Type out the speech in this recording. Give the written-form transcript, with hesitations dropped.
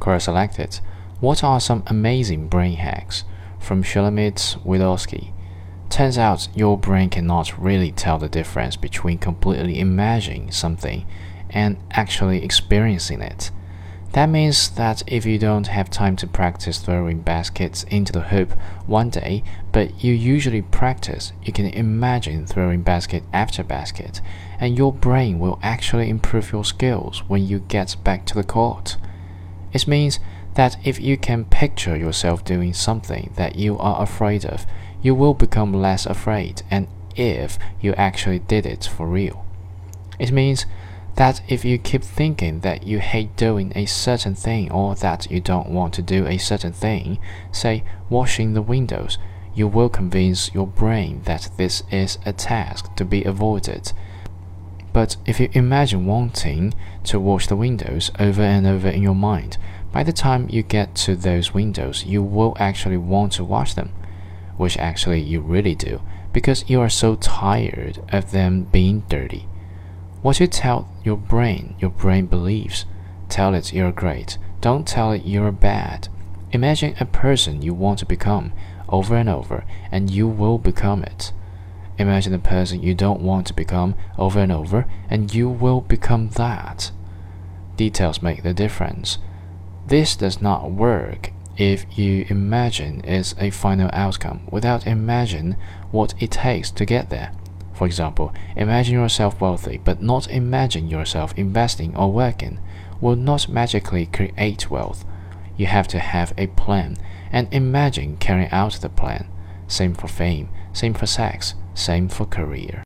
Quora selected, what are some amazing brain hacks? From Shulamit Wilowski. Turns out your brain cannot really tell the difference between completely imagining something and actually experiencing it. That means that if you don't have time to practice throwing baskets into the hoop one day, but you usually practice, you can imagine throwing basket after basket, and your brain will actually improve your skills when you get back to the court. It means that if you can picture yourself doing something that you are afraid of, you will become less afraid, and if you actually did it for real. It means that if you keep thinking that you hate doing a certain thing or that you don't want to do a certain thing, say washing the windows, you will convince your brain that this is a task to be avoided. But if you imagine wanting to wash the windows over and over in your mind, by the time you get to those windows, you will actually want to wash them, which actually you really do, because you are so tired of them being dirty. What you tell your brain believes. Tell it you're great. Don't tell it you're bad. Imagine a person you want to become over and over, and you will become it. Imagine a person you don't want to become over and over, and you will become that. Details make the difference. This does not work if you imagine it's a final outcome without imagine what it takes to get there. For example, imagine yourself wealthy, but not imagine yourself investing or working will not magically create wealth. You have to have a plan and imagine carrying out the plan. Same for fame, same for sex, same for career.